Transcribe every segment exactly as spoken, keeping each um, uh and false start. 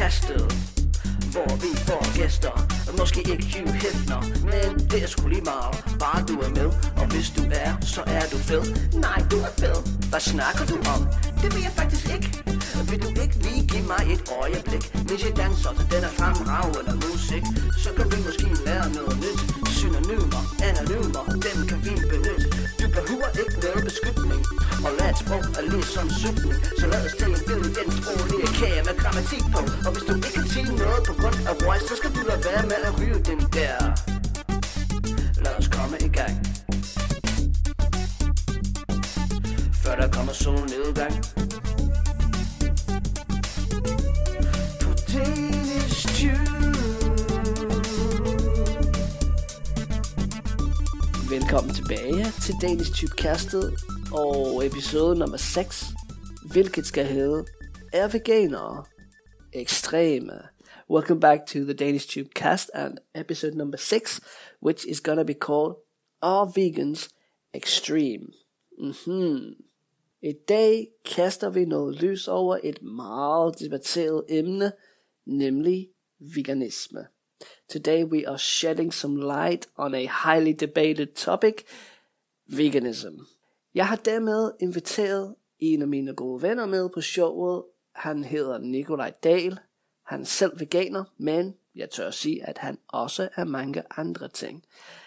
castet, hvor vi får gæster. Måske ikke Hugh Hefner, men det er sgu lige meget. Bare du er med, og hvis du er, så er du fed. Nej, du er fed. Hvad snakker du om? Det vil jeg faktisk ikke. Vil du ikke lige give mig et øjeblik, mens jeg danser til den er fremragende musik? Så kan vi måske lære noget nyt. Synonymer, anonymer, dem kan vi benytte. Du behøver ikke noget beskytning, og lad et sprog er lige som sygning. Så lad os tage en bid igen sproglige kage med grammatik på. Og hvis du ikke kan sige noget på grund af voice, så skal du lade være med at ryge den der. Lad os komme i gang, før der kommer solnedgang. Velkommen tilbage til Danish Tubecastet og episode nummer seks, hvilket skal hedde Er veganere ekstreme? Welcome back to the Danish Tubecast and episode number six, which is gonna be called Are vegans extreme? Mm-hmm. I dag kaster vi noget lys over et meget debatteret emne, nemlig veganisme. Today we are shedding some light on a highly debated topic, veganism. Jeg har dermed inviteret en af mine gode venner med på showet. Han hedder Nikolaj Dahl. Han er selv veganer, men jeg tør sige, at han også er mange andre ting.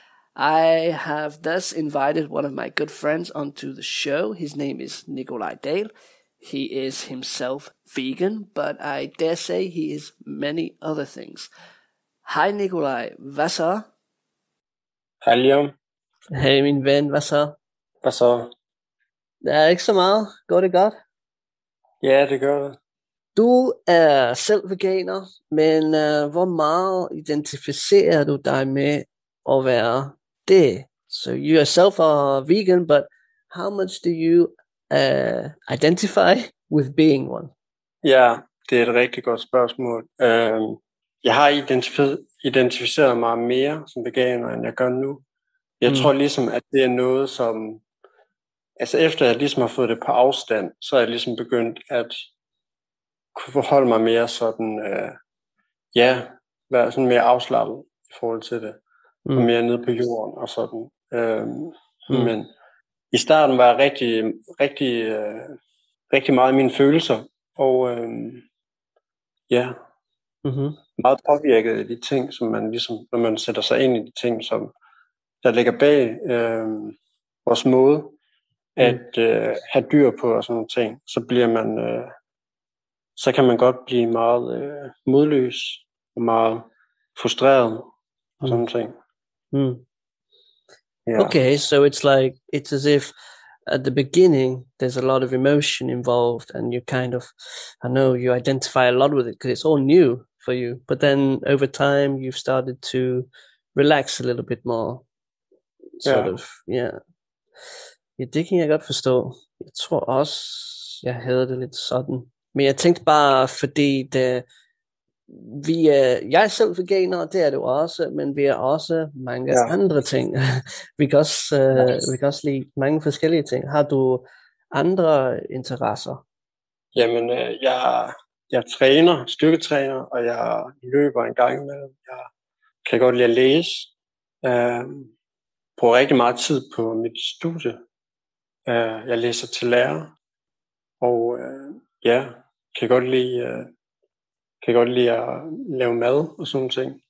I have thus invited one of my good friends onto the show. His name is Nikolaj Dahl. He is himself vegan, but I dare say he is many other things. Hej Nikolaj, hvad så? Hej Liam. Hej min ven, hvad så? Hvad så? Der er ikke så meget. Går det godt? Ja, det gør det. Du er selv veganer, men uh, hvor meget identificerer du dig med at være det? So you yourself are vegan, but how much do you uh, identify with being one? Ja, det er et rigtig godt spørgsmål. Uh, jeg har identif- identificeret mig mere som veganer, end jeg gør nu. Jeg mm. tror ligesom, at det er noget, som... Altså efter jeg ligesom har fået det på afstand, så er jeg ligesom begyndt at kunne forholde mig mere sådan... Uh, ja, være sådan mere afslappet i forhold til det. Mm. Og mere nede på jorden og sådan. Uh, mm. Men i starten var jeg rigtig, rigtig, uh, rigtig meget i mine følelser. Og uh, ja... Mm-hmm. meget påvirket af de ting, som man ligesom, når man sætter sig ind i de ting, som der ligger bag øh, vores måde at øh, have dyr på og sådan nogle ting, så bliver man, øh, så kan man godt blive meget øh, modløs og meget frustreret og sådan nogle ting. Mm. Yeah. Okay, so it's like, it's as if at the beginning, there's a lot of emotion involved and you kind of, I know you identify a lot with it because it's all new for you. But then over time, you've started to relax a little bit more. Sort yeah. of, yeah. Ja, det kan jeg godt forstå. Jeg tror også, jeg havde det lidt sådan. Men jeg tænkte bare, fordi det, vi er, jeg er selv veganer, det er du også, men vi er også mange ja. andre ting. vi, kan også, uh, yes. vi kan også lide mange forskellige ting. Har du andre interesser? Jamen, øh, jeg, jeg træner, styrketræner, og jeg løber en gang imellem. Jeg kan godt lide at læse. Jeg bruger rigtig meget tid på mit studie. Jeg læser til lærer, og øh, ja, kan godt lide... Øh, kan godt lide at lave mad og sådan nogle ting.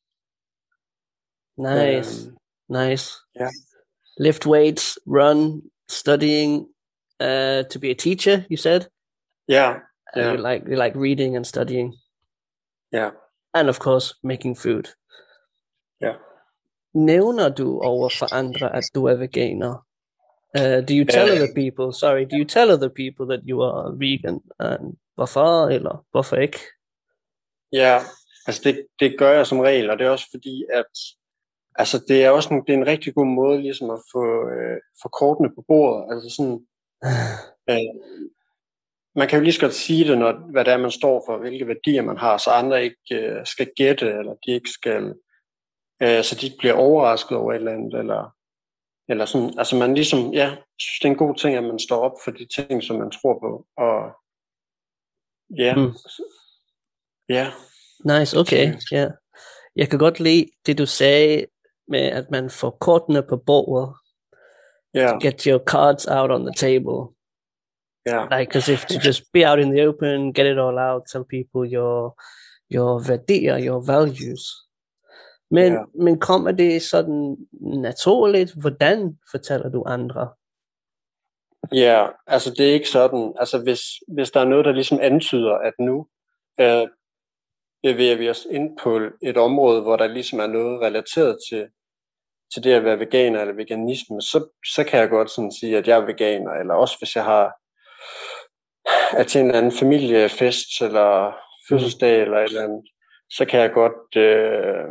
Nice, um, nice. Yeah. Lift weights, run, studying, uh, to be a teacher, you said? Yeah, yeah. Uh, you like, you like reading and studying? Yeah. And of course, making food. Yeah. Nævner du over for andre, at du er veganer? Uh, do you tell uh, other people, sorry, do you tell other people that you are vegan? And hvorfor, eller hvorfor ikke? Ja, altså det, det gør jeg som regel, og det er også fordi, at altså det er også en, det er en rigtig god måde ligesom at få, øh, få kortene på bordet. Altså sådan, øh, man kan jo lige så godt sige det, når, hvad det er, man står for, hvilke værdier man har, så andre ikke øh, skal gætte, eller de ikke skal, øh, så de ikke bliver overrasket over et eller andet, eller, eller sådan, altså man ligesom, ja, synes det er en god ting, at man står op for de ting, som man tror på, og ja, mm. ja, Nice, okay, ja. Yeah. Jeg kan godt lide det, du sagde med, at man får kortene på bordet. Yeah. Get your cards out on the table. Yeah. Like, as if to just be out in the open, get it all out, tell people your your værdier, your values. Men, yeah. men kommer det sådan naturligt? Hvordan fortæller du andre? Ja, yeah, altså det er ikke sådan. Altså hvis, hvis der er noget, der ligesom antyder, at nu øh, bevæger vi os ind på et område, hvor der ligesom er noget relateret til, til det at være veganer eller veganisme, så, så kan jeg godt sådan sige, at jeg er veganer, eller også hvis jeg har er til en eller anden familiefest, eller fødselsdag, eller et eller andet, så kan jeg godt, øh,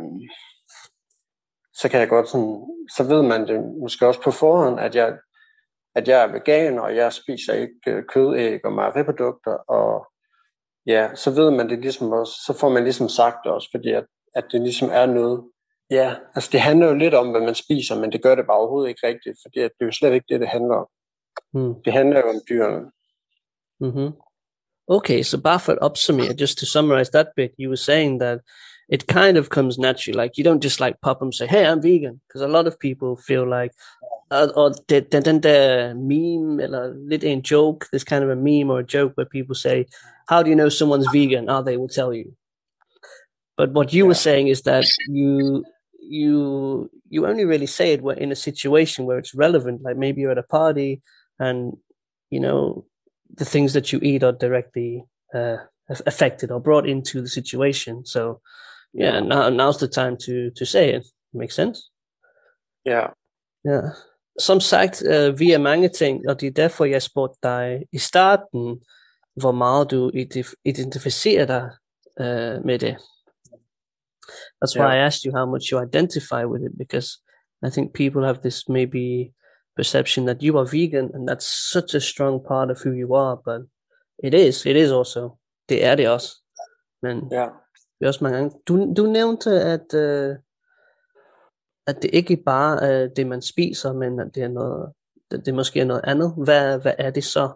så kan jeg godt sådan, så ved man det måske også på forhånd, at jeg, at jeg er veganer, og jeg spiser ikke kød, æg og mejeriprodukter, og ja, så ved man det ligesom også, så får man ligesom sagt det også, fordi at, at det ligesom er noget, ja, altså det handler jo lidt om, hvad man spiser, men det gør det bare overhovedet ikke rigtigt, fordi at det er jo slet ikke det, det handler om. Mm. Det handler jo om dyrene. Mm-hmm. Okay, so bare for at opsummere, just to summarize that bit, you were saying that it kind of comes naturally, like you don't just like pop and say, hey, I'm vegan, because a lot of people feel like, uh, or den, den der meme, eller lidt en joke, there's kind of a meme or a joke where people say, how do you know someone's vegan? Oh, they will tell you. But what you yeah. were saying is that you you you only really say it in a situation where it's relevant, like maybe you're at a party and, you know, the things that you eat are directly uh, affected or brought into the situation. So, yeah, yeah. Now, now's the time to to say it. Makes sense? Yeah. Yeah. Som sagt, uh, vi er mange ting, og det er derfor, jeg spurgte dig i starten, hvor meget du identificerer dig uh, med det. That's why yeah. I asked you how much you identify with it, because I think people have this maybe perception that you are vegan, and that's such a strong part of who you are, but it is, it is also. Det er det også. Men yeah. det er også mange gange. Du, du nævnte, at, uh, at det ikke bare er det, man spiser, men at det er noget, det, det måske er noget andet. Hvad, hvad er det så?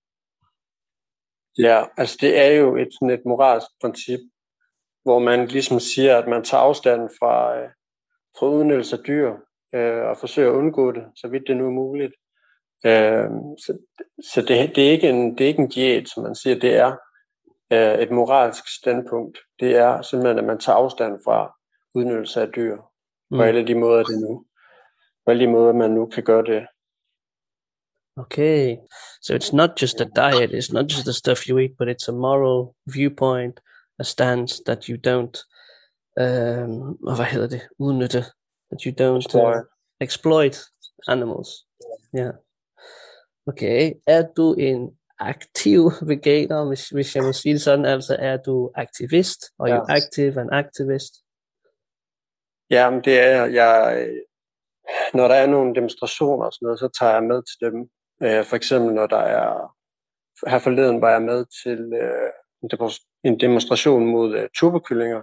Ja, altså det er jo et, sådan et moralsk princip, hvor man ligesom siger, at man tager afstand fra, øh, fra udnyttelse af dyr, øh, og forsøger at undgå det, så vidt det nu er muligt. Øh, så så det, det, er ikke en, det er ikke en diæt, som man siger, det er øh, et moralsk standpunkt. Det er simpelthen, at man tager afstand fra udnyttelse af dyr, mm. på alle de måder, det nu, på alle de måder, man nu kan gøre det. Okay, so it's not just a diet, it's not just the stuff you eat, but it's a moral viewpoint, a stance that you don't, um, hvad hedder det, udnytte, that you don't exploit, uh, exploit animals. Yeah. Okay, er du en aktiv veganer, hvis, hvis jeg må sige det sådan, altså er du aktivist, og ja. You active and activist? Ja, men det er jeg. Når der er nogle demonstrationer og sådan noget, så tager jeg med til dem. For eksempel når der er, her forleden var jeg med til en demonstration mod turbokyllinger.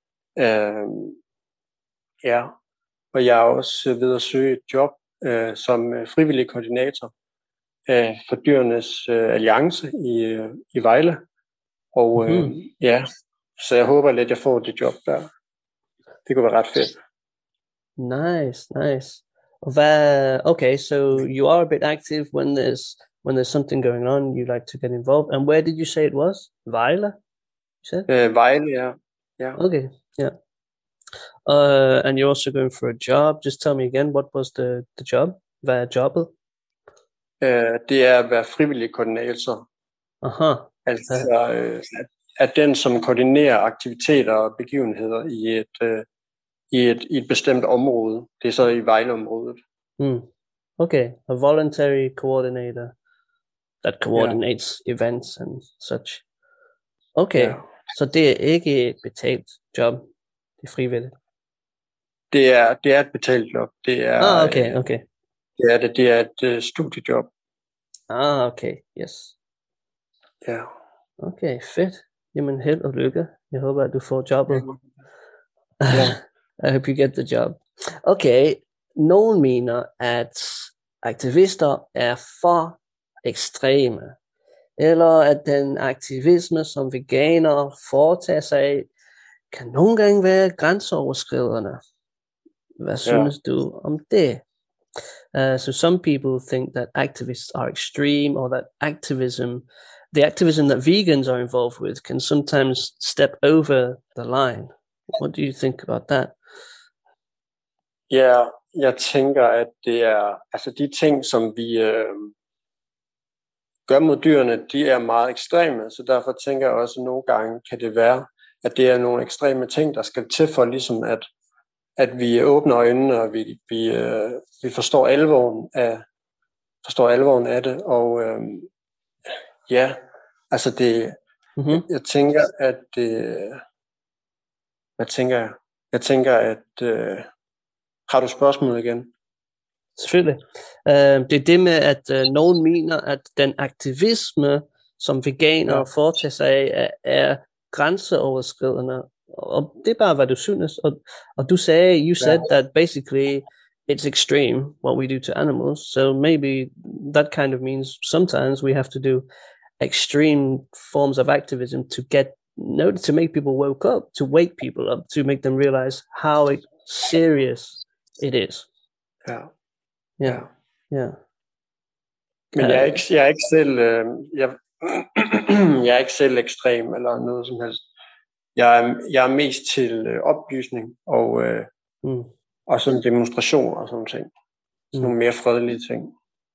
Ja, og jeg er også ved at søge et job som frivillig koordinator for Dyrenes Alliance i, i Vejle. Og mm. ja, så jeg håber lidt, at jeg får det job der. Det kunne være ret fedt. Nice, nice. Okay, so you are a bit active when there's when there's something going on. You like to get involved. And where did you say it was? Vejle? You said? Uh, Vejle, yeah, yeah. Okay, yeah. Uh, and you're also going for a job. Just tell me again, what was the the job? Hvad er jobbet? Uh, det er at være frivillig koordinator. Aha. Altså uh, at, at den som koordinerer aktiviteter og begivenheder i et uh, I et, i et bestemt område. Det er så i Vejle-området. Mm. Okay, a voluntary coordinator that coordinates yeah. events and such. Okay, yeah. Så det er ikke et betalt job. Det er frivilligt. Det er, det er et betalt job. Det er, ah, okay, okay. Det er, det, det er et uh, studiejob. Ah, okay, yes. Ja. Yeah. Okay, fedt. Jamen held og lykke. Jeg håber, at du får jobbet. Yeah. I hope you get the job. Okay, nogen mener, at aktivister er for ekstreme, eller at den aktivisme, som veganer foretager sig, kan nogle gange være grænseoverskridende. Hvad synes yeah. du om det? Uh, so some people think that activists are extreme, or that activism, the activism that vegans are involved with, can sometimes step over the line. What do you think about that? Ja, yeah, jeg tænker, at det er, altså de ting, som vi øh, gør mod dyrene, de er meget ekstreme, så derfor tænker jeg også, at nogle gange kan det være, at det er nogle ekstreme ting, der skal til for ligesom at at vi åbner øjnene, og vi, vi, øh, vi forstår alvoren af, forstår alvoren af det, og øh, ja, altså det, mm-hmm. jeg tænker, at det, hvad tænker jeg? Jeg tænker, at, øh, har du spørgsmål igen? Selvfølgelig. Uh, det er det med, at uh, nogen mener, at den aktivisme, som veganer ja. foretager sig af, er, er grænseoverskridende. Og det er bare, hvad du synes. Og, og du sagde, you said yeah. that basically it's extreme what we do to animals. So maybe that kind of means sometimes we have to do extreme forms of activism to get, no, to make people woke up, to wake people up, to make them realize how serious it is. Ja. Ja. Ja. Men jeg er ikke, jeg er ikke selv, øh, jeg, jeg er ikke selv ekstrem eller noget som helst. Jeg er, jeg er mest til øh, oplysning og, øh, mm. og sådan demonstrationer og sådan ting. Sådan mm. nogle mere fredelige ting.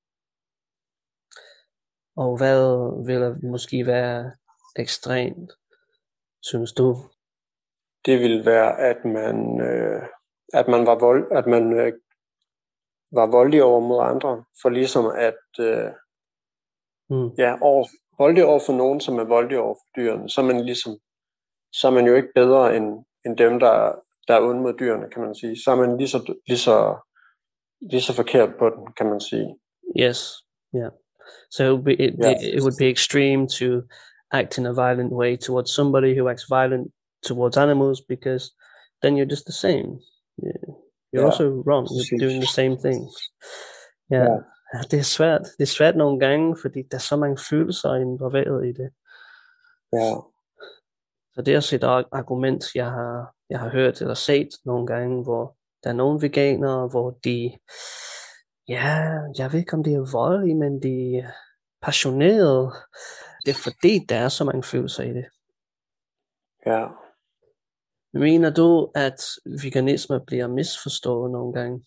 Og hvad vil måske være ekstremt, synes du? Det ville være, at man, øh, at man var vold, at man øh, var voldelig over mod andre, for ligesom at øh, mm. ja, over, voldelig over for nogen, som er voldelig over for dyrene, så er man ligesom så er man jo ikke bedre end, end dem, der, der er onde mod dyrene, kan man sige. Så er man lige så, lige så, lige så forkert på den, kan man sige. Yes, yeah. So it would, be, it, yeah. it would be extreme to act in a violent way towards somebody who acts violent towards animals, because then you're just the same. You're yeah. also wrong. You're doing the same things. Yeah. Yeah. Det er svært. Det er svært nogle gange, fordi der er så mange følelser involveret i det. Ja. Yeah. Så det er også et argument, jeg har, jeg har hørt eller set nogle gange, hvor der er nogle veganere, hvor de, ja, jeg ved ikke om de er voldelige, men de er passionerede. Det er fordi, der er så mange følelser i det. Ja. Mener du, at veganisme bliver misforstået nogle gange?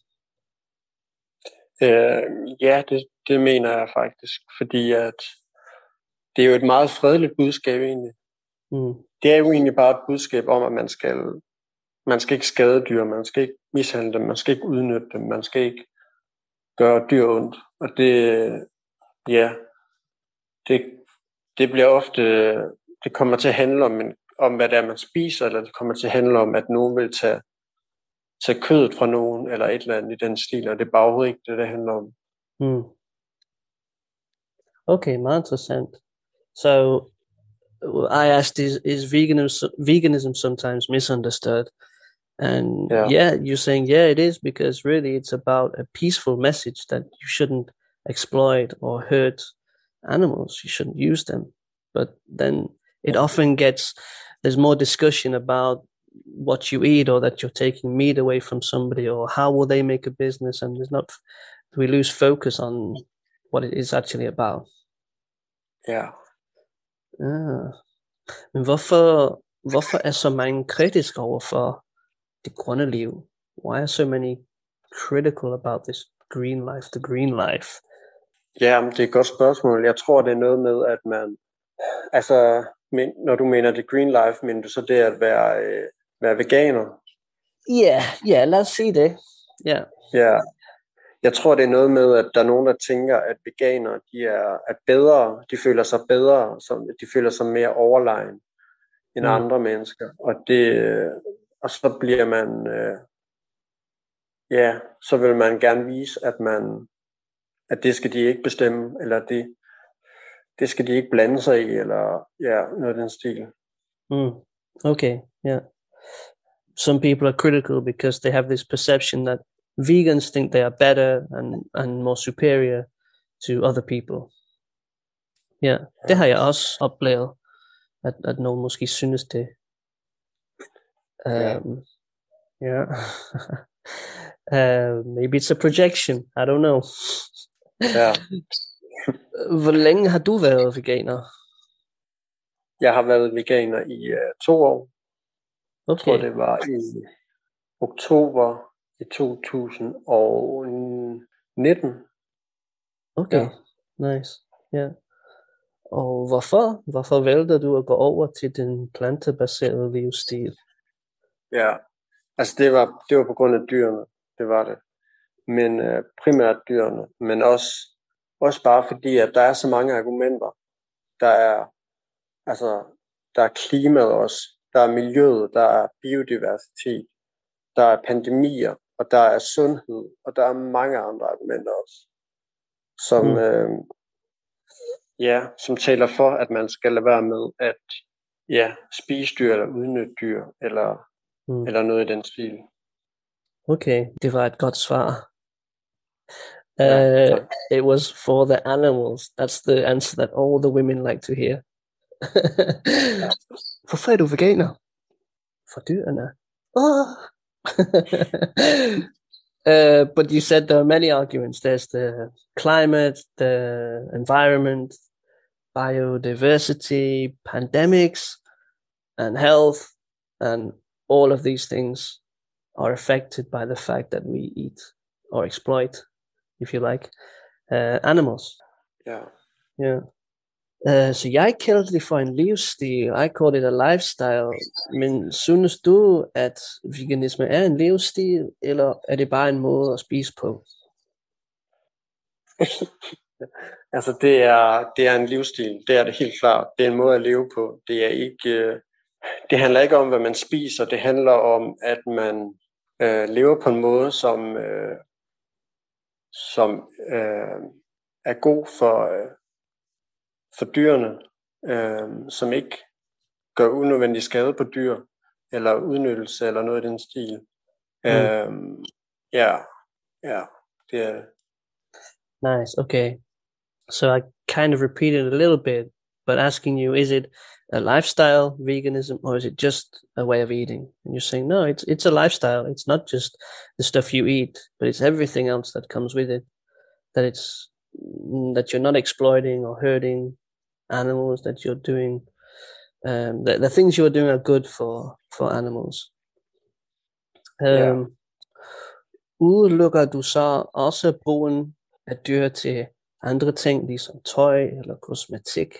Øh, ja, det, det mener jeg faktisk, fordi at det er jo et meget fredeligt budskab egentlig. Mm. Det er jo egentlig bare et budskab om, at man skal, man skal ikke skade dyr, man skal ikke mishandle dem, man skal ikke udnytte dem, man skal ikke gøre dyr ondt. Og det, ja, det, det bliver ofte, det kommer til at handle om, om, hvad det er, man spiser, eller det kommer til at handle om, at nogen vil tage, tage kødet fra nogen, eller et eller andet i den stil, og det er bare overhovedet ikke det, det handler om. Mm. Okay, meget interessant. So, I asked, is, is veganism, veganism sometimes misunderstood? And yeah. yeah, you're saying, yeah, it is, because really it's about a peaceful message that you shouldn't exploit or hurt animals. You shouldn't use them. But then it often gets, there's more discussion about what you eat, or that you're taking meat away from somebody, or how will they make a business? And there's not, we lose focus on what it is actually about. Yeah. Ah. Men hvorfor, hvorfor er så mange kritiske overfor det grønne liv? Why are so many critical about this green life, the green life? Ja, det er et godt spørgsmål. Jeg tror, det er noget med, at man, altså, men, når du mener det green life, mener du så det at være, øh, være veganer? Ja, yeah, ja, yeah, lad os sige det. Ja. Yeah. Ja. Jeg tror, det er noget med, at der er nogen, der tænker, at veganere, de er, er bedre, de føler sig bedre, som, de føler sig mere overlegen end mm. andre mennesker. Og, det, og så bliver man, øh, ja, så vil man gerne vise, at man, at det skal de ikke bestemme, eller det, det skal de ikke blande sig i, eller ja, noget af den stil. Mm. Okay, yeah. Some people are critical because they have this perception that vegans think they are better and, and more superior to other people. Ja, yeah. Det har jeg også oplevet, at, at nogen måske synes det. Um, yeah. uh, maybe it's a projection. I don't know. Ja. Hvor længe har du været veganer? Jeg har været veganer i uh, to år. Okay. Jeg tror, det var i oktober i to tusind og nitten. Okay, ja. Nice. Ja. Og hvorfor? Hvorfor valgte du at gå over til den plantebaserede livsstil? Ja, altså det var, det var på grund af dyrene, det var det. Men uh, primært dyrene, men også, også bare fordi, at der er så mange argumenter. Der er, altså, der er klimaet også, der er miljøet, der er biodiversitet, der er pandemier, og der er sundhed, og der er mange andre argumenter også, som, mm. øh, ja, som taler for, at man skal lade være med at ja, spise dyr eller udnytte dyr, eller, mm. eller noget i den stil. Okay, det var et godt svar. Uh, it was for the animals. That's the answer that all the women like to hear. Hvorfor er du veganer? For dyrene. Oh. uh, but you said there are many arguments. There's the climate, the environment, biodiversity, pandemics, and health, and all of these things are affected by the fact that we eat or exploit, if you like, uh, animals. Yeah. Yeah. Uh, så jeg kaldte det for en livsstil. I call it a lifestyle. Men synes du, at veganisme er en livsstil, eller er det bare en måde at spise på? Altså det er, det er en livsstil. Det er det helt klart. Det er en måde at leve på. Det er ikke, det handler ikke om, hvad man spiser. Det handler om, at man øh, lever på en måde, som, øh, som øh, er god for, øh, for dyrene, øh, som ikke gør unødvendig skade på dyr, eller udnyttelse, eller noget i den stil. Mm. Øh, ja, ja, det er... Nice, okay. So I kind of repeated a little bit, but asking you, is it a lifestyle, veganism, or is it just a way of eating? And you're saying, no, it's it's a lifestyle. It's not just the stuff you eat, but it's everything else that comes with it. That it's that you're not exploiting or hurting animals, that you're doing um, the, the things you're doing are good for, for animals. Um, yeah. Udelukker du så også brugen af dyr til andre ting, ligesom tøj eller kosmetik?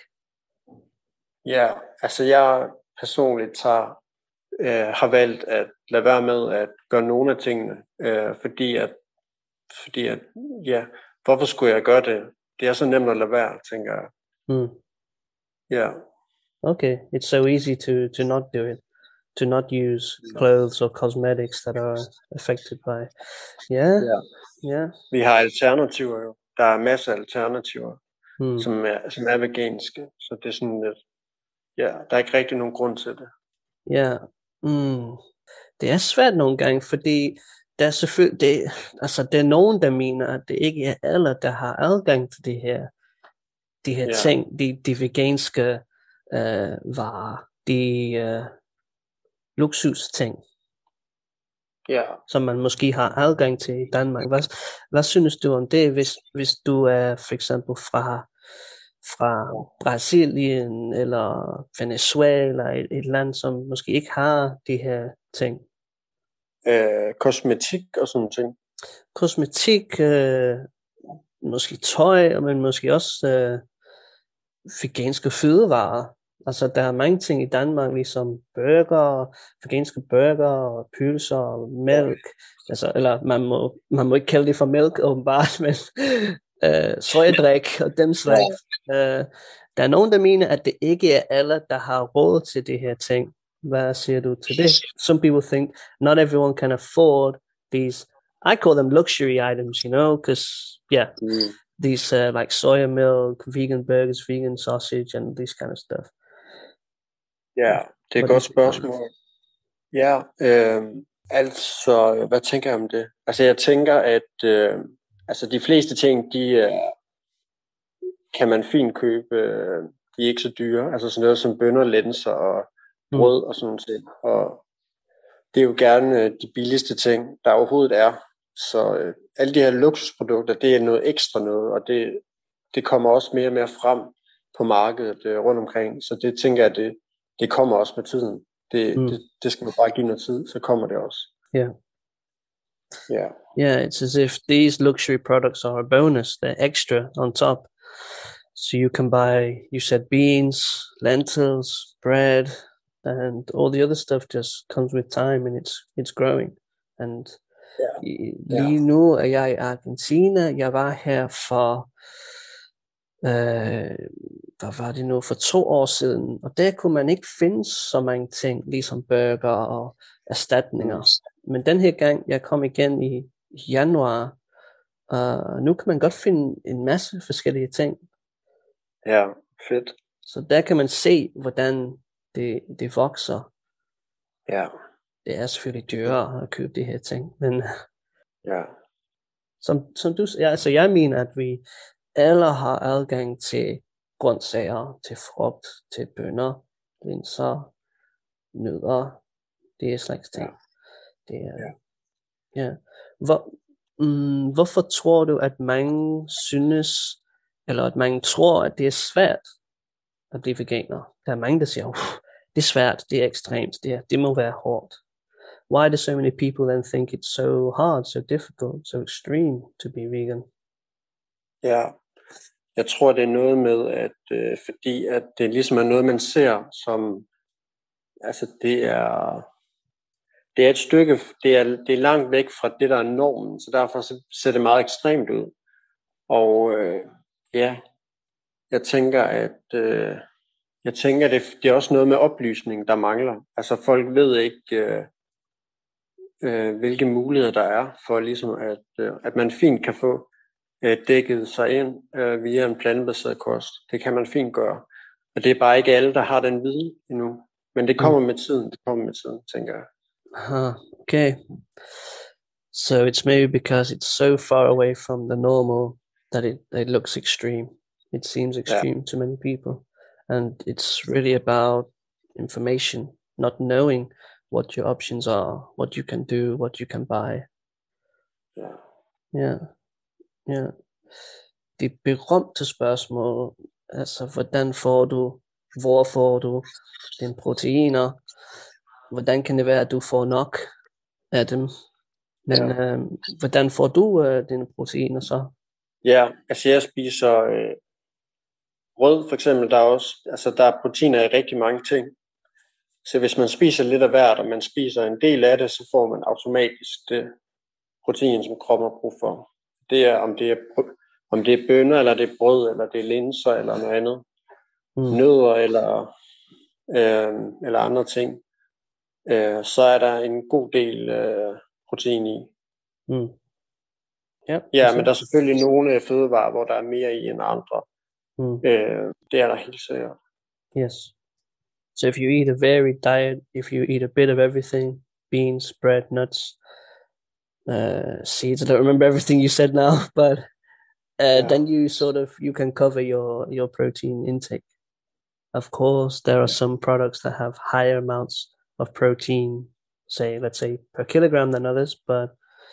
Ja, altså jeg personligt tager, øh, har valgt at lade være med at gøre nogle af tingene, øh, fordi at, fordi at, ja, hvorfor skulle jeg gøre det? Det er så nemt at lade være, tænker jeg. Mm. Yeah. Okay, it's so easy to, to not do it, to not use clothes or cosmetics that are affected by, yeah, yeah. yeah. Vi har alternativer jo. Der er masser af alternativer, mm. som, er, som er veganske, så det er sådan lidt, ja, der er ikke rigtig nogen grund til det. Ja, mm. Det er svært nogle gange, fordi der er selvfølgelig, det, altså der er nogen, der mener, at det ikke er alle, der har adgang til de her, de her yeah. ting, de, de veganske øh, varer, de øh, luksusting, yeah. som man måske har adgang til i Danmark. Hvad, hvad synes du om det, hvis, hvis du er for eksempel fra fra Brasilien eller Venezuela, et, et land, som måske ikke har de her ting? Øh, kosmetik og sådan ting. Kosmetik, øh, måske tøj, men måske også øh, veganske fødevarer. Altså, der er mange ting i Danmark, ligesom burger, veganske burger, og pølser og mælk. Altså, eller man må, man må ikke kalde det for mælk, åbenbart, men øh, sojadrik og dem slags. Øh, der er nogen, der mener, at det ikke er alle, der har råd til det her ting. Hvad siger du til det? Some people think not everyone can afford these, I call them luxury items, you know, because, yeah, mm. these uh, like soya milk, vegan burgers, vegan sausage, and this kind of stuff. Ja, det er et godt spørgsmål. Ja, øh, altså, hvad tænker jeg om det? Altså, jeg tænker, at øh, altså, de fleste ting, de øh, kan man fint købe. Øh, de er ikke så dyre. Altså sådan noget som bønner, linser og brød mm. og sådan noget. Og, det er jo gerne øh, de billigste ting, der overhovedet er. Så øh, alle de her luksusprodukter, det er noget ekstra noget, og det, det kommer også mere og mere frem på markedet øh, rundt omkring. Så det tænker jeg, det, det kommer også med tiden. Det, Mm. det, det skal man bare give noget tid, så kommer det også. Yeah. Yeah. Yeah, it's as if these luxury products are a bonus, they're extra on top. So you can buy, you said beans, lentils, bread, and all the other stuff just comes with time, and it's it's growing. And Yeah. i- Yeah. lige nu er jeg i Argentina. Jeg var her for, øh, hvad var det nu, for to år siden, og der kunne man ikke finde så mange ting, ligesom burger og erstatninger. Mm. Men den her gang, jeg kom igen i januar, og nu kan man godt finde en masse forskellige ting. Ja, fedt. Så der kan man se, hvordan det, det vokser. Ja. Det er selvfølgelig dyrere at købe de her ting, men Ja. som, som du ja, altså jeg mener, at vi alle har adgang til grøntsager, til frugt, til bønner, linser, nødder, det er slags ting. Ja. Det er, Ja. ja. Hvor, mm, hvorfor tror du, at mange synes, eller at mange tror, at det er svært at blive veganer? Der er mange, der siger, det er svært, det er ekstremt, det, er, det må være hårdt. Why do so many people then think it's so hard, so difficult, so extreme to be vegan? Ja, jeg tror, det er noget med, at øh, fordi at det ligesom er noget, man ser som, altså det er, det er et stykke, det er, det er langt væk fra det, der er normen, så derfor så ser det meget ekstremt ud. Og øh, ja, jeg tænker, at øh, jeg tænker, det, det er også noget med oplysning, der mangler. Altså folk ved ikke, øh, øh, hvilke muligheder der er for ligesom, at, øh, at man fint kan få øh, dækket sig ind øh, via en plantebaseret kost. Det kan man fint gøre. Og det er bare ikke alle, der har den viden endnu. Men det kommer med tiden, det kommer med tiden, tænker jeg. Huh, okay. So it's maybe because it's so far away from the normal that it, it looks extreme. It seems extreme yeah. to many people. And it's really about information, not knowing what your options are, what you can do, what you can buy. Yeah. Yeah. Yeah. Det berømte spørgsmål, altså hvordan får du, hvor får du dine proteiner, hvordan kan det være, at du får nok af dem, men ja. øh, hvordan får du øh, dine proteiner så? Ja, altså jeg spiser øh, brød for eksempel, der er også, altså der er proteiner i rigtig mange ting, så hvis man spiser lidt af hvert, og man spiser en del af det, så får man automatisk det protein, som kroppen har brug for. Det er, om det er, om det er bønner, eller det er brød, eller det er linser, eller noget andet. Mm. Nødder, eller, øh, eller andre ting. Øh, så er der en god del øh, protein i. Mm. Ja, ja, men der er selvfølgelig nogle fødevarer, hvor der er mere i end andre. Mm. Øh, det er der helt sikkert. Yes. So if you eat a varied diet, if you eat a bit of everything, beans, bread, nuts, uh, seeds, I don't remember everything you said now, but uh, yeah. then you sort of, you can cover your, your protein intake. Of course, there are some products that have higher amounts of protein, say, let's say per kilogram than others, but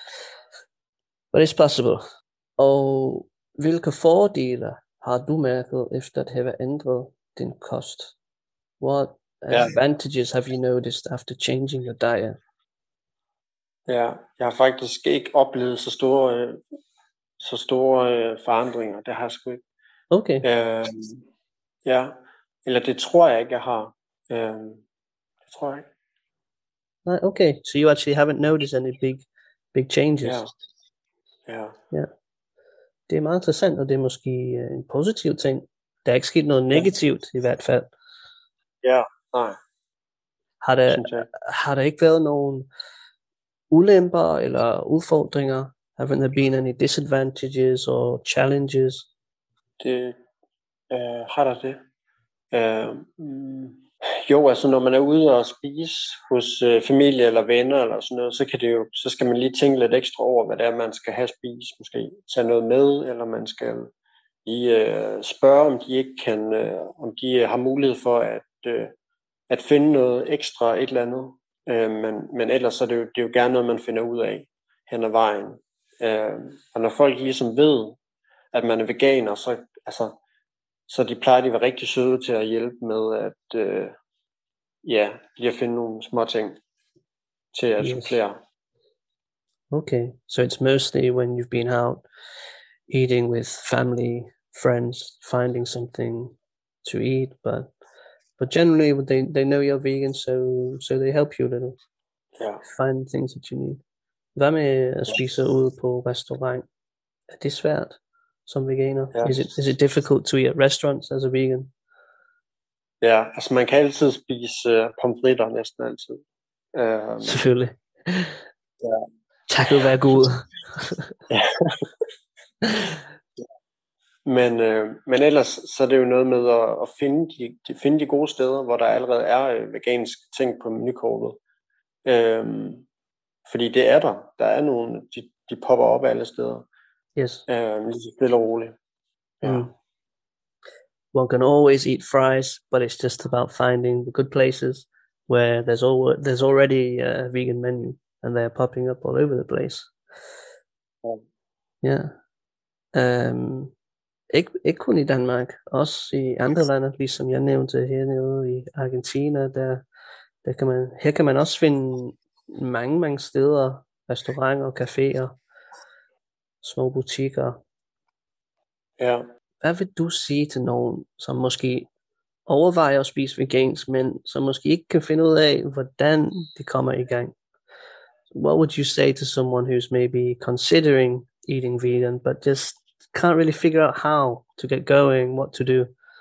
but it's possible. Og hvilke fordele har du mærket efter at have ændret din kost? What advantages have you noticed after changing your diet? Ja, jeg har faktisk ikke oplevet så store, så store forandringer. Det har jeg sgu ikke. Okay. Øh, ja, eller det tror jeg ikke, jeg har. Øh, det tror jeg ikke. Okay, so you actually haven't noticed any big, big changes. Ja. Ja. Ja. Det er meget interessant, og det er måske en positiv ting. Der er ikke sket noget negativt ja. I hvert fald. Ja, nej. Har der, har der ikke været nogen ulemper eller udfordringer? Haven't there been any disadvantages or challenges? Det øh, har der det. Øh, mm, jo, altså når man er ude og spise hos øh, familie eller venner eller sådan noget, så kan det jo, så skal man lige tænke lidt ekstra over, hvad det er, man skal have spist. Måske tage noget med, eller man skal lige øh, spørge, om de ikke kan, øh, om de har mulighed for at, øh, at finde noget ekstra, et eller andet. Øh, men, men ellers så er det, jo, det er jo gerne noget, man finder ud af hen ad vejen. Øh, og når folk ligesom ved, at man er veganer, så, altså, så de plejer de at være rigtig søde til at hjælpe med at, øh, ja, lige at finde nogle små ting til at Yes. supplere. Okay, so it's mostly when you've been out eating with family, friends, finding something to eat, but but generally they they know you're vegan, so so they help you a little. Ja. Find things that you need. Hvad med at spise ude på restaurant? Er det svært som veganer? Ja. Is it is it difficult to eat at restaurants as a vegan? Ja, altså man kan altid spise uh, pomfritter næsten altid. Um, Selvfølgelig. Ja. Takket være Gud. Ja. Men, øh, men ellers så er det jo noget med at, at finde, de, de, finde de gode steder, hvor der allerede er øh, veganske ting på menukortet. Øhm, fordi det er der. Der er nogle, de, de popper op alle steder. Yes. Øhm, lige så stille og roligt. Ja. Mm. One can always eat fries, but it's just about finding the good places where there's al- there's already a vegan menu and they're popping up all over the place. Ja. Yeah. Um, ikke, ikke kun i Danmark, også i andre lande, ligesom jeg nævnte hernede i Argentina, der, der kan man, her kan man også finde mange, mange steder, restauranter, caféer, små butikker. Ja. Hvad vil du sige til nogen, som måske overvejer at spise vegansk, men som måske ikke kan finde ud af, hvordan de kommer i gang? What would you say to someone who's maybe considering eating vegan, but just can't really figure out how to get going, what to do?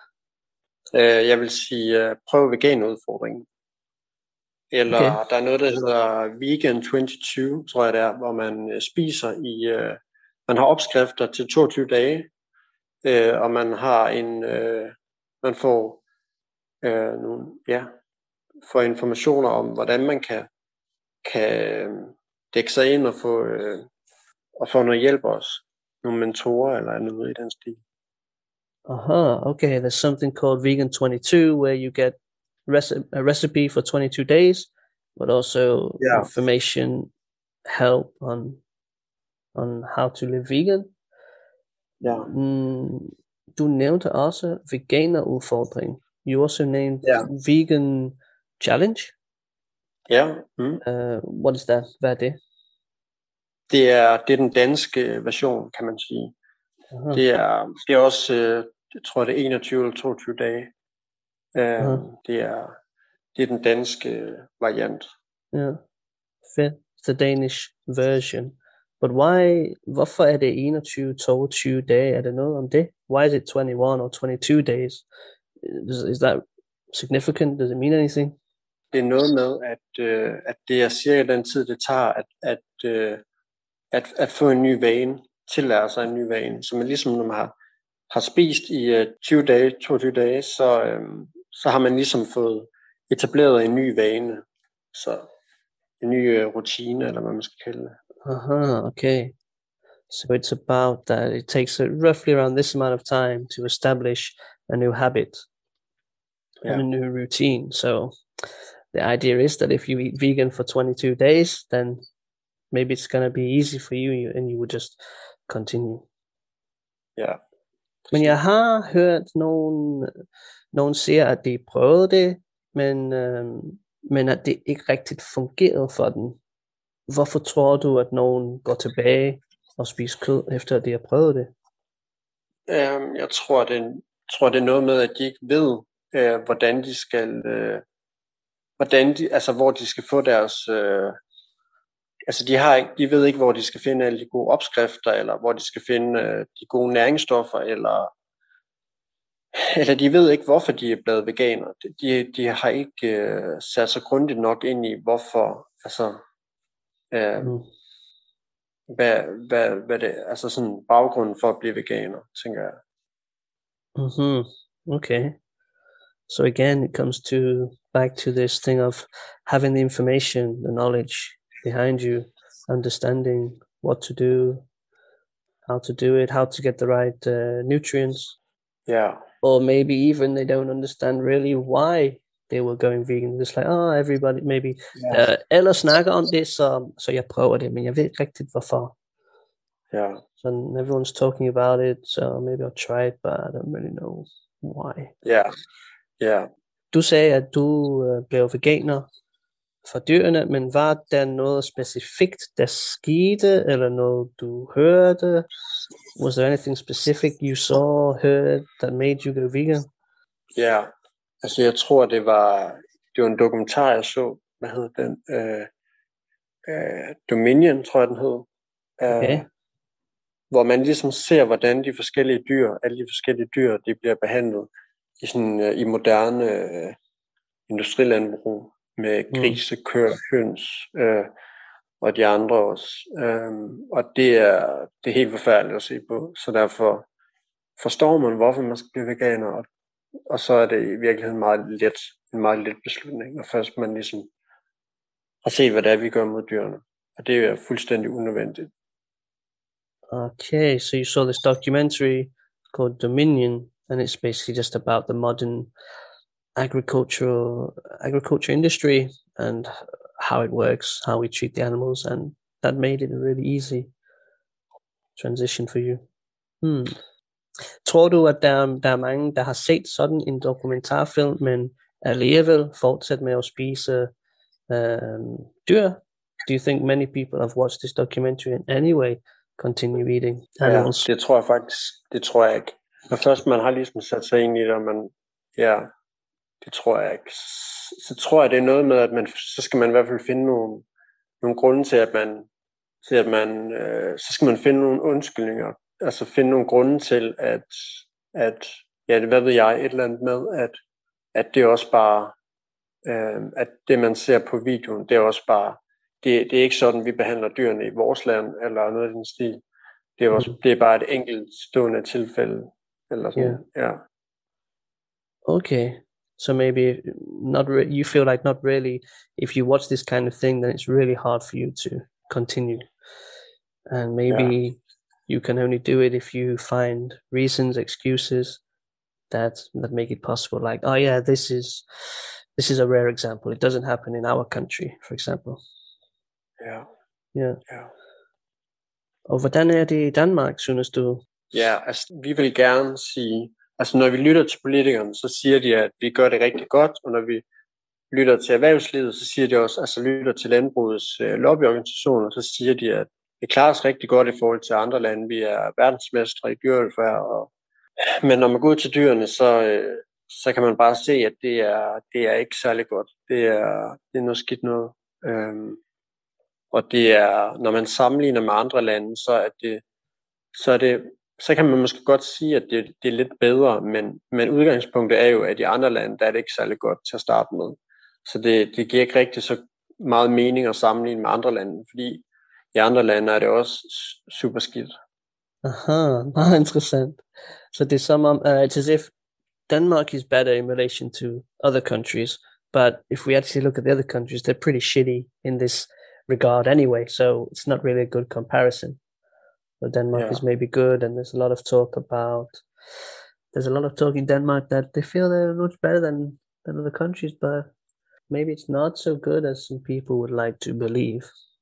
Uh, jeg vil sige, uh, prøv veganudfordringen. Eller okay. Der er noget, der hedder Vegan toogtyve, tror jeg det er, hvor man uh, spiser i, uh, man har opskrifter til toogtyve dage, uh, og man har en, uh, man får uh, nogle, ja, får informationer om, hvordan man kan, kan dække sig ind og få, uh, og få noget hjælp også. Nogle mentorer eller noget i den stil. Uh-huh, okay, there's something called Vegan twenty-two where you get reci- a recipe for twenty-two days, but also yeah. information, help on on how to live vegan. Ja. Mm, du nævnte også veganerudfordring. You also named yeah. Vegan Challenge. Ja. Yeah. Mm. Uh, what is that? Hvad er det? Det er, det er den danske version, kan man sige. Uh-huh. Det er, det er også, øh, jeg tror det er enogtyve eller toogtyve dage. Øh, uh-huh. Det er, det er den danske variant. Ja, yeah. Fedt. The Danish version. But why, hvorfor er det enogtyve til toogtyve dage? Er det noget om det? Why is it twenty-one or twenty-two days? Is, is that significant? Does it mean anything? Det er noget med, at, øh, at det er cirka den tid, det tager at, at, øh, at, at få en ny vane, tillære sig en ny vane. Så man ligesom, når man har, har spist i uh, tyve dage, toogtyve dage, så, øhm, så har man ligesom fået etableret en ny vane. Så en ny uh, rutine, eller hvad man skal kalde det. Aha, okay. So it's about that it takes uh, roughly around this amount of time to establish a new habit yeah. and a new routine. So the idea is that if you eat vegan for twenty-two days, then maybe it's going to be easy for you and you would just continue. Ja. Men jeg har hørt nogen, nogen sige, at de prøvede det, men, øh, men at det ikke rigtigt fungerede for dem. Hvorfor tror du, at nogen går tilbage og spiser kød, efter at de har prøvet det? Um, jeg tror det, tror, det er noget med, at de ikke ved, uh, hvordan de skal, uh, hvordan de, altså hvor de skal få deres... Uh, Altså de har ikke, de ved ikke, hvor de skal finde alle de gode opskrifter, eller hvor de skal finde øh, de gode næringsstoffer, eller, eller de ved ikke, hvorfor de er blevet veganer. De, de har ikke øh, sat sig grundigt nok ind i, hvorfor, altså, øh, mm. hvad, hvad, hvad det altså sådan baggrunden for at blive veganer, tænker jeg. Mm-hmm. Okay. So again, it comes to back to this thing of having the information, the knowledge behind you, understanding what to do, how to do it, how to get the right uh, nutrients. Yeah. Or maybe even they don't understand really why they were going vegan. It's like, oh, everybody, maybe, Ja. uh, alle snakker om det, så, så jeg prøver det, men jeg ved ikke rigtigt, hvorfor. Ja. So everyone's talking about it, so maybe I'll try it, but I don't really know why. Ja, ja. Du sagde, at du uh, blev veganer for dyrene, men var der noget specifikt, der skete, eller noget du hørte? Was there anything specific you saw, heard, that made you go vegan? Ja, altså jeg tror, det var, det var en dokumentar, jeg så. Hvad hed den? Uh, uh, Dominion, tror jeg, den hed. Uh, Okay. Hvor man ligesom ser, hvordan de forskellige dyr, alle de forskellige dyr, de bliver behandlet i, sådan, uh, i moderne uh, industrilandbrug med grise, køer, høns uh, og de andre også. Um, og det er, det er helt forfærdeligt at se på, så derfor forstår man, hvorfor man skal blive veganer, og, og så er det i virkeligheden meget let, en meget let beslutning, og først man ligesom har set, hvad det er, vi gør mod dyrene. Og det er fuldstændig unødvendigt. Okay, so you saw this documentary called Dominion, and it's basically just about the modern agricultural agriculture industry and how it works, how we treat the animals, and that made it a really easy transition for you. Hmm. Tror du, at der, der er mange, der har set sådan en dokumentarfilm, men alligevel fortsat med at spise um, dyr? Do you think many people have watched this documentary and anyway continue eating animals? Ja, det tror jeg faktisk, det tror jeg ikke. Når først man har ligesom sat sig ind i det, og man, ja, det tror jeg ikke. Så tror jeg, det er noget med, at man, så skal man i hvert fald finde nogle, nogle grunde til, at man, til at man, øh, så skal man finde nogle undskyldninger. Altså finde nogle grunde til, at, at ja, hvad ved jeg, et eller andet med, at, at det er også bare, øh, at det man ser på videoen, det er også bare, det, det er ikke sådan, vi behandler dyrene i vores land, eller noget af den stil. Det er, også, mm. det er bare et enkelt stående tilfælde, eller sådan, Yeah. ja. Okay, so maybe not re- you feel like not really, if you watch this kind of thing, then it's really hard for you to continue. And maybe Yeah. you can only do it if you find reasons, excuses that that make it possible. Like, oh yeah, this is this is a rare example. It doesn't happen in our country, for example. Ja. Yeah. Ja. Og hvordan er det i Danmark, synes du? Ja, altså vi vil gerne sige, altså når vi lytter til politikerne, så siger de, at vi gør det rigtig godt, og når vi lytter til erhvervslivet, så siger de også, altså lytter til landbrugets øh, lobbyorganisationer, så siger de, at det klarer os rigtig godt i forhold til andre lande. Vi er verdensmestre i dyrevelfærd, og men når man går ud til dyrene, så, øh, så kan man bare se, at det er, det er ikke særlig godt. Det er, det er noget skidt noget. Øhm, og det er, når man sammenligner med andre lande, så er det, så er det, så kan man måske godt sige, at det, det er lidt bedre, men, men udgangspunktet er jo, at i andre lande, der er det ikke særlig godt til at starte med. Så det, det giver ikke rigtig så meget mening at sammenligne med andre lande, fordi i andre lande er det også super skidt. Aha, meget interessant. Så det er som om, uh, it's as if Denmark is better in relation to other countries, but if we actually look at the other countries, they're pretty shitty in this regard anyway, so it's not really a good comparison. So Denmark Yeah. is maybe good, and there's a lot of talk about, there's a lot of talk in Denmark that they feel they're much better than, than other countries, but maybe it's not so good as some people would like to believe.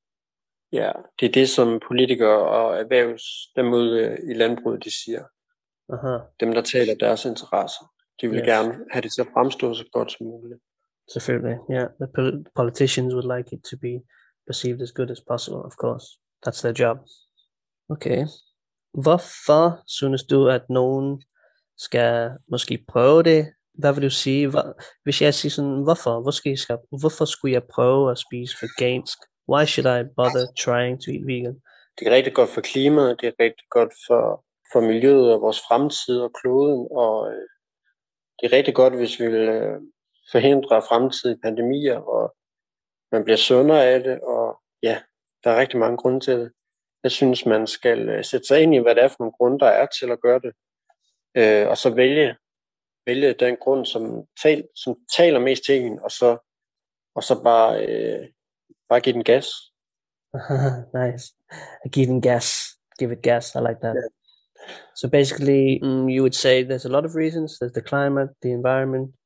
Ja, det er det, som politikere og erhvervs, dem ude i landbruget, de siger. Aha. Dem, der taler deres interesser. De vil Yes. gerne have det til at fremstå så godt som muligt. Selvfølgelig, yeah. The pol- politicians would like it to be perceived as good as possible, of course. That's their job. Okay. Hvorfor synes du, at nogen skal måske prøve det? Hvad vil du sige? Hvor, hvis jeg siger sådan, hvorfor? Hvor skal jeg, skal, hvorfor skulle jeg prøve at spise vegansk? Why should I bother trying to eat vegan? Det er rigtig godt for klimaet, det er rigtig godt for, for miljøet og vores fremtid og kloden, og øh, det er rigtig godt, hvis vi vil øh, forhindre fremtidige pandemier, og man bliver sundere af det, og ja, der er rigtig mange grunde til det. Jeg synes, man skal øh, sætte sig ind i, hvad det er for nogle grunde, der er til at gøre det, øh, og så vælge, vælge den grund, som, tal, som taler mest til en, og så, og så bare, øh, bare give den gas. Nice. Give it gas. Give it gas. I like that. Yeah. So basically, mm, you would say there's a lot of reasons. There's the climate, the environment,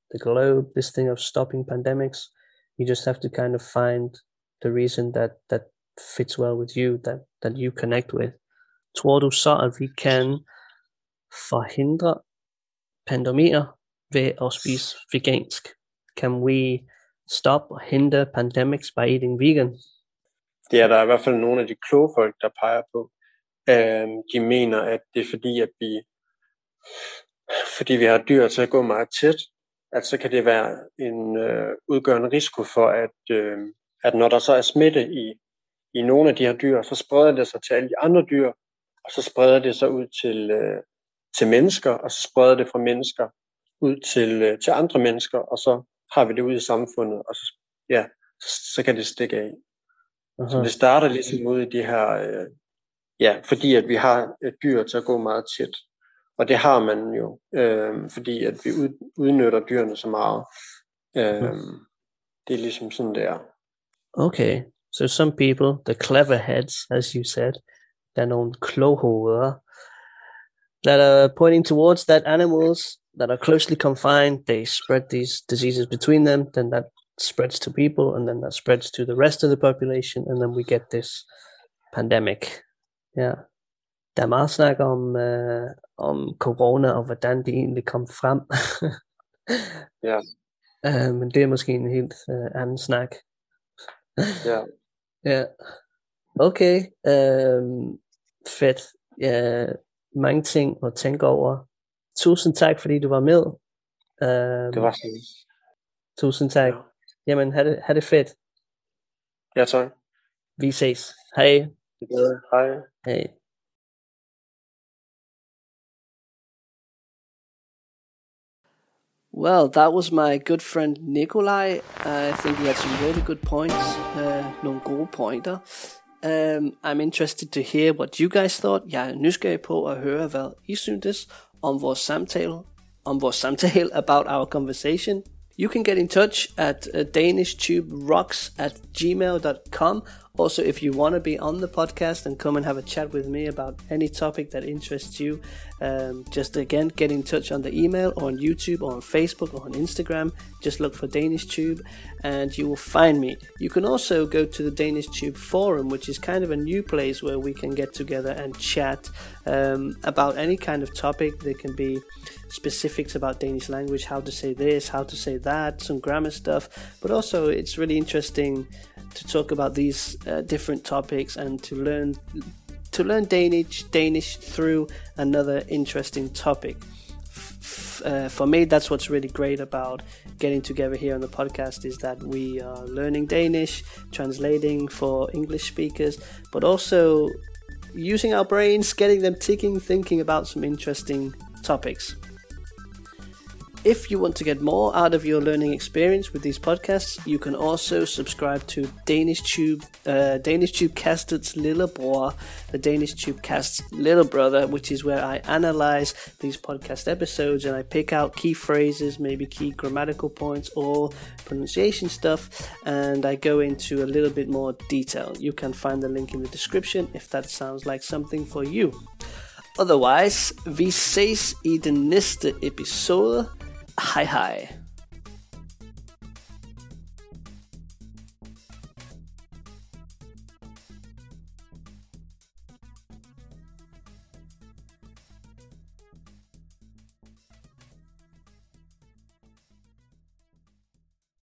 the globe, this thing of stopping pandemics. You just have to kind of find the reason that, that fits well with you, that, that you connect with. Tror du så, at vi kan forhindre pandemier ved at spise vegansk? Can we stop or hinder pandemics by eating vegan? Det er der i hvert fald nogle af de kloge folk, der peger på. Øhm, de mener, at det er fordi, at vi, fordi vi har dyr til at gå meget tæt, at så kan det være en øh, udgørende risiko for, at, øh, at når der så er smitte i, i nogle af de her dyr, så spreder det sig til alle de andre dyr, og så spreder det sig ud til, øh, til mennesker, og så spreder det fra mennesker ud til, øh, til andre mennesker, og så har vi det ud i samfundet, og så, ja, så, så kan det stikke af. Uh-huh. Så det starter ligesom ud i de her, øh, ja, fordi at vi har et dyr til at gå meget tæt. Og det har man jo, øh, fordi at vi ud, udnytter dyrene så meget. Øh, mm. Det er ligesom sådan der. Okay, so some people, the clever heads, as you said, der er nogle kloghoveder, that are pointing towards that animals that are closely confined, they spread these diseases between them, then that spreads to people, and then that spreads to the rest of the population, and then we get this pandemic. Ja, der er meget snak om, uh, om corona, og hvordan det egentlig kom frem. Ja. uh, men det er måske en helt uh, anden snak. Ja. Ja. Okay, uh, fedt. Ja, mange ting at tænke over. Tusind tak, fordi du var med. Uh, det var sådan. Tusind tak. Ja. Jamen, ha' det, ha' det fedt. Ja, tak. Vi ses. Hej. Ja, hej. Hej. Well, that was my good friend Nikolaj. Uh, I think he had some really good points. Uh, nogle gode pointer. Um, I'm interested to hear what you guys thought. Jeg er nysgerrig på at høre, hvad I syntes om vores samtale, om vores samtale about our conversation. You can get in touch at uh, danishtube.rocks at gmail dot com. Also, if you want to be on the podcast and come and have a chat with me about any topic that interests you, um, just again, get in touch on the email or on YouTube or on Facebook or on Instagram. Just look for DanishTube and you will find me. You can also go to the DanishTube forum, which is kind of a new place where we can get together and chat um, about any kind of topic. There can be specifics about Danish language, how to say this, how to say that, some grammar stuff, but also it's really interesting to talk about these uh, different topics and to learn to learn Danish Danish through another interesting topic. F- uh, for me, that's what's really great about getting together here on the podcast, is that we are learning Danish, translating for English speakers, but also using our brains, getting them ticking, thinking about some interesting topics. If you want to get more out of your learning experience with these podcasts, you can also subscribe to DanishTube, uh, DanishTubeCast's Lillebror, the DanishTubeCast's little brother, which is where I analyze these podcast episodes and I pick out key phrases, maybe key grammatical points or pronunciation stuff, and I go into a little bit more detail. You can find the link in the description if that sounds like something for you. Otherwise, vi ses i den næste episode. Hej hej.